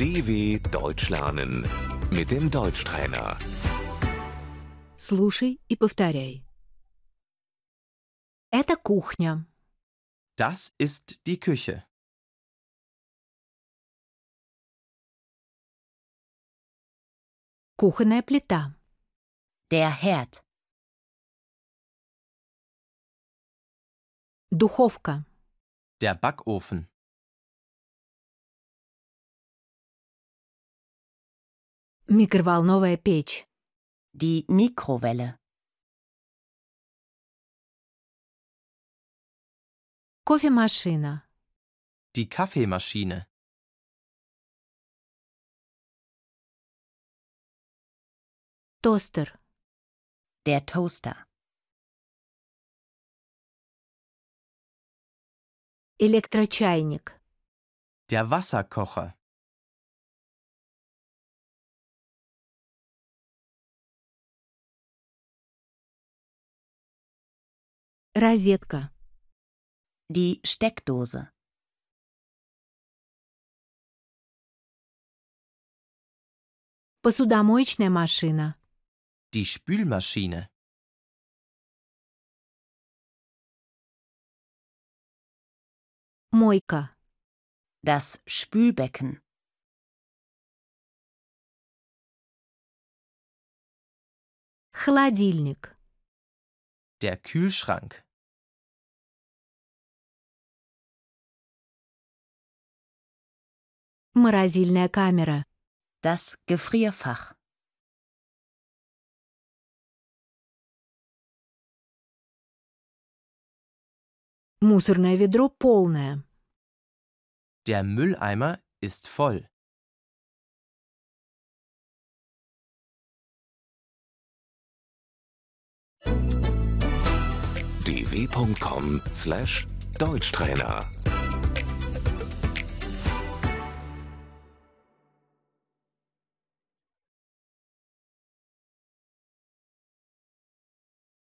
DW Deutsch lernen mit dem Deutschtrainer. Слушай и повторяй. Это кухня. Das ist die Küche. Кухонная плита. Der Herd. Духовка. Der Backofen. Микроволновая печь. Die Mikrowelle. Кофемашина. Die Kaffeemaschine. Тостер. Der Toaster. Электрочайник. Der Wasserkocher. Розетка. Die Steckdose. Посудомоечная машина. Die Spülmaschine. Мойка. Das Spülbecken. Холодильник. Der Kühlschrank. Морозильная камера. Das Gefrierfach. Мусорное ведро полное. Der Mülleimer ist voll. dw.com/Deutschtrainer